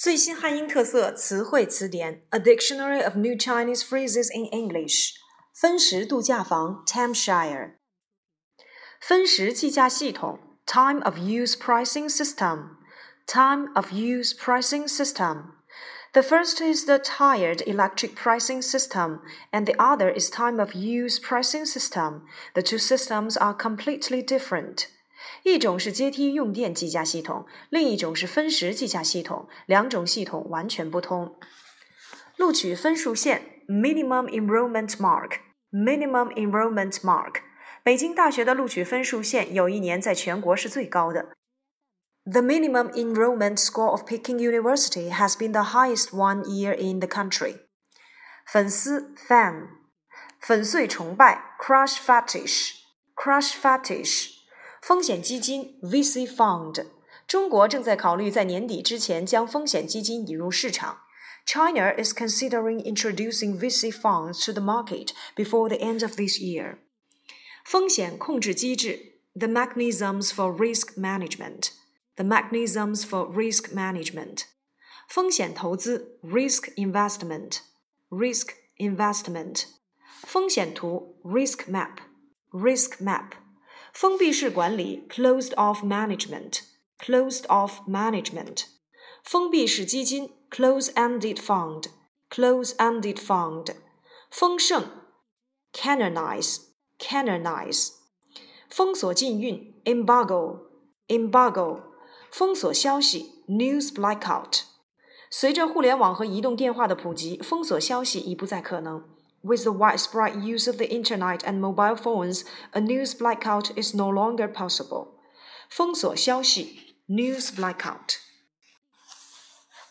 最新汉英特色词汇词典 A Dictionary of New Chinese Phrases in English 分时度假房 Timeshare 分时计价系统 Time of Use Pricing System Time of Use Pricing System The first is the tired electric pricing system, and the other is time of use pricing system. The two systems are completely different. 一种是阶梯用电计价系统，另一种是分时计价系统，两种系统完全不同。录取分数线 Minimum Enrollment Mark Minimum Enrollment Mark 北京大学的录取分数线有一年在全国是最高的。The minimum enrollment score of Peking University has been the highest one year in the country. 粉丝 fan 粉碎崇拜 crush fetish 风险基金 VC fund 中国正在考虑在年底之前将风险基金引入市场。China is considering introducing VC funds to the market before the end of this year. 风险控制机制 The mechanisms for risk management.The mechanisms for risk management. 风险投资 risk investment. 风险图 risk map. 封闭式管理 closed off management. 封闭式基金 close-ended fund. 丰盛 canonize. 封锁禁运 embargo. 封锁消息 news blackout 随着互联网和移动电话的普及，封锁消息已不再可能。With the widespread use of the internet and mobile phones, a news blackout is no longer possible. 封锁消息 news blackout